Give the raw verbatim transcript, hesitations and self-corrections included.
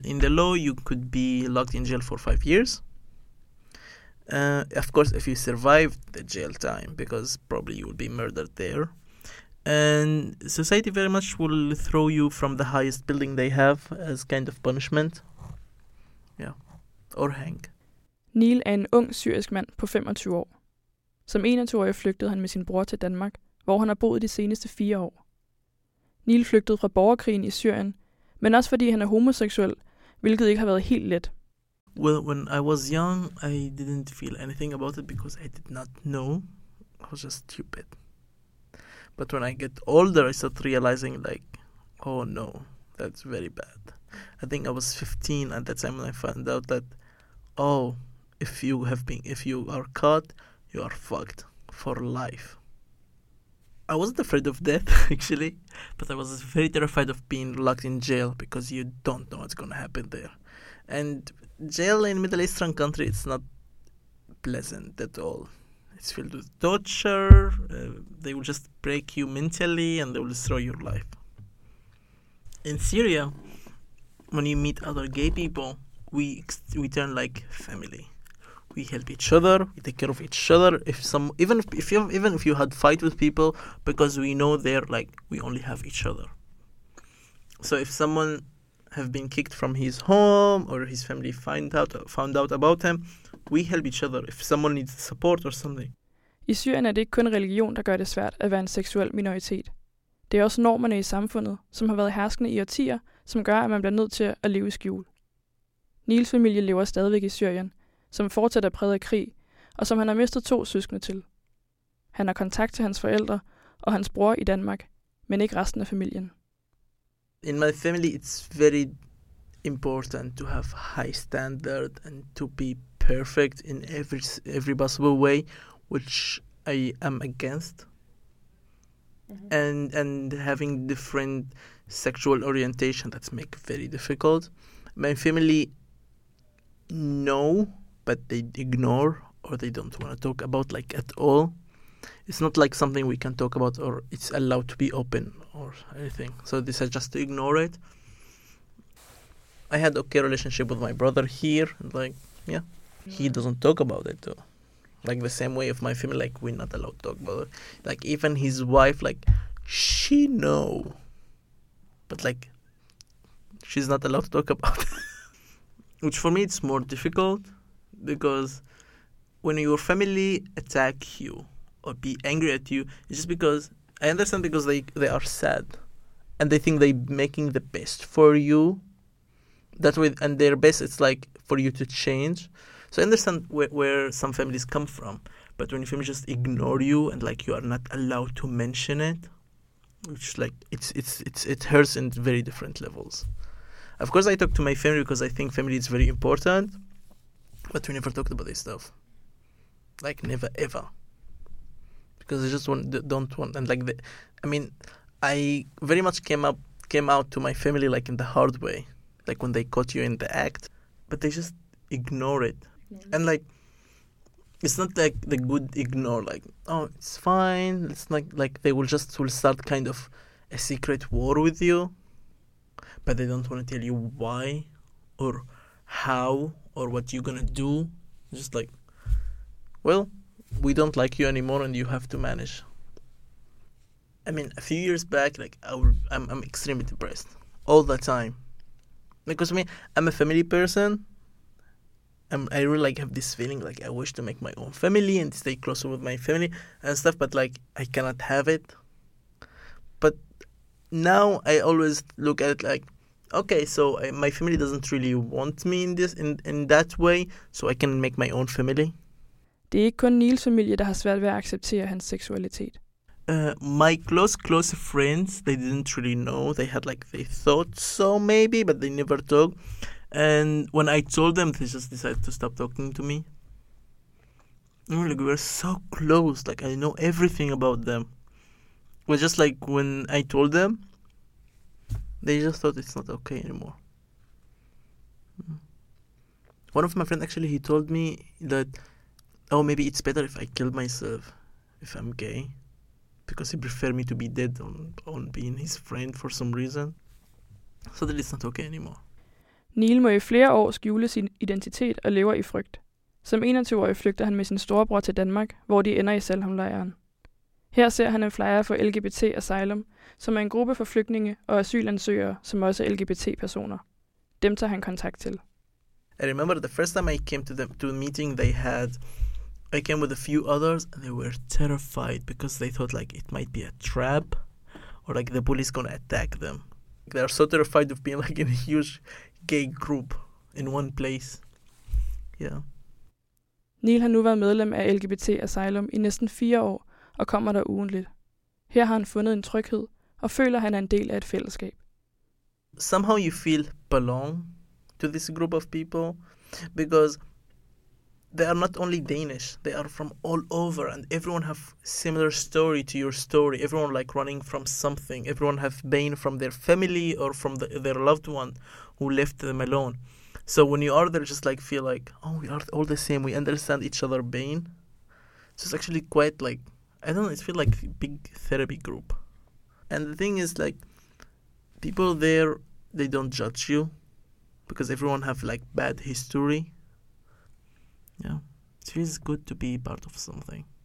In the law, you could be locked in jail for five years. Uh, of course, if you survive the jail time, because probably you will be murdered there. And society very much will throw you from the highest building they have as kind of punishment. Yeah. Or hang. Neil er en ung syrisk mand på femogtyve år. Som enogtyve-årig flygtede han med sin bror til Danmark, hvor han har boet de seneste fire år. Neil flygtede fra borgerkrigen i Syrien, men også fordi han er homoseksuel, hvilket ikke har været helt let. Well, when I was young, I didn't feel anything about it because I did not know. I was just stupid. But when I get older, I start realizing like, oh no, that's very bad. I think I was fifteen at that time when I found out that, oh, if you have been, if you are caught, you are fucked for life. I wasn't afraid of death actually, but I was very terrified of being locked in jail because you don't know what's gonna happen there. And jail in Middle Eastern country, it's not pleasant at all. It's filled with torture. Uh, they will just break you mentally and they will destroy your life. In Syria, when you meet other gay people, we we turn like family. We help each other. We take care of each other. If some, even if, if you even if you had fight with people, because we know they're like we only have each other. So if someone have been kicked from his home or his family find out found out about him, we help each other if someone needs support or something. I Syrien er det ikke kun religion, der gør det svært at være en seksuel minoritet. Det er også normerne i samfundet, som har været herskende i årtier, som gør, at man bliver nødt til at leve i skjul. Nils familie lever stadigvæk i Syrien, som fortsat er præget af krig, og som han har mistet to søskende til. Han har kontakt til hans forældre og hans bror i Danmark, men ikke resten af familien. In my family, it's very important to have high standard and to be perfect in every every possible way, which I am against. Mm-hmm. And and having different sexual orientation, that's make it very difficult. My family know, but they ignore or they don't want to talk about like at all. It's not like something we can talk about or it's allowed to be open or anything. So this is just to ignore it. I had okay relationship with my brother here, and like yeah, he doesn't talk about it though. Like the same way of my family, like we're not allowed to talk about it. Like even his wife, like she know, but like she's not allowed to talk about it. Which for me it's more difficult because when your family attack you or be angry at you, it's just because I understand because they they are sad and they think they're making the best for you. That way, and their best, it's like for you to change. So I understand where, where some families come from, but when your family just ignore you and like you are not allowed to mention it, which like it's it's it's it hurts in very different levels. Of course, I talk to my family because I think family is very important, but we never talked about this stuff. Like never ever, because I just want don't want and like the, I mean, I very much came up came out to my family like in the hard way. Like when they caught you in the act, but they just ignore it. Mm-hmm. And like, it's not like the good ignore, like, oh, it's fine. It's not like they will just will start kind of a secret war with you, but they don't want to tell you why or how or what you're gonna do. Just like, well, we don't like you anymore and you have to manage. I mean, a few years back, like I will, I'm, I'm extremely depressed all the time. Because I mean, I'm a family person. I'm, I really like have this feeling like I wish to make my own family and stay closer with my family and stuff, but like I cannot have it. But now I always look at it like, okay, so I, my family doesn't really want me in this in, in that way, so I can make my own family. Det er ikke kun Nils familie, der har svært ved at acceptere hans seksualitet. Uh, my close, close friends, they didn't really know. They had like, they thought so maybe, but they never talked. And when I told them, they just decided to stop talking to me. You know, like we were so close. Like I know everything about them. But just like when I told them, they just thought it's not okay anymore. One of my friends actually, he told me that, oh, maybe it's better if I kill myself if I'm gay. Because he prefer me to be dead on, on being his friend for some reason. So that it's not okay anymore. Neil må i flere år skjule sin identitet og lever i frygt. Som enogtyve-årig flygter han med sin storebror til Danmark, hvor de ender i Salham-lejren. Her ser han en flyer for L G B T Asylum, som er en gruppe for flygtninge og asylansøgere, som også er L G B T-personer. Dem tager han kontakt til. I remember the first time I came to them to a meeting they had, I came with a few others and they were terrified because they thought like it might be a trap or like the police gonna attack them. They are so terrified of being like in a huge gay group in one place. Yeah. Neil har nu været medlem af L G B T Asylum i næsten fire år og kommer der ugentligt. Her har han fundet en tryghed og føler, at han er en del af et fællesskab. Somehow you feel belong to this group of people because they are not only Danish, they are from all over and everyone have similar story to your story. Everyone like running from something. Everyone have been from their family or from the, their loved one who left them alone. So when you are there, just like feel like, oh, we are all the same. We understand each other pain. So it's actually quite like, I don't know, it feels like a big therapy group. And the thing is like, people there, they don't judge you because everyone have like bad history. Yeah, it feels good to be part of something.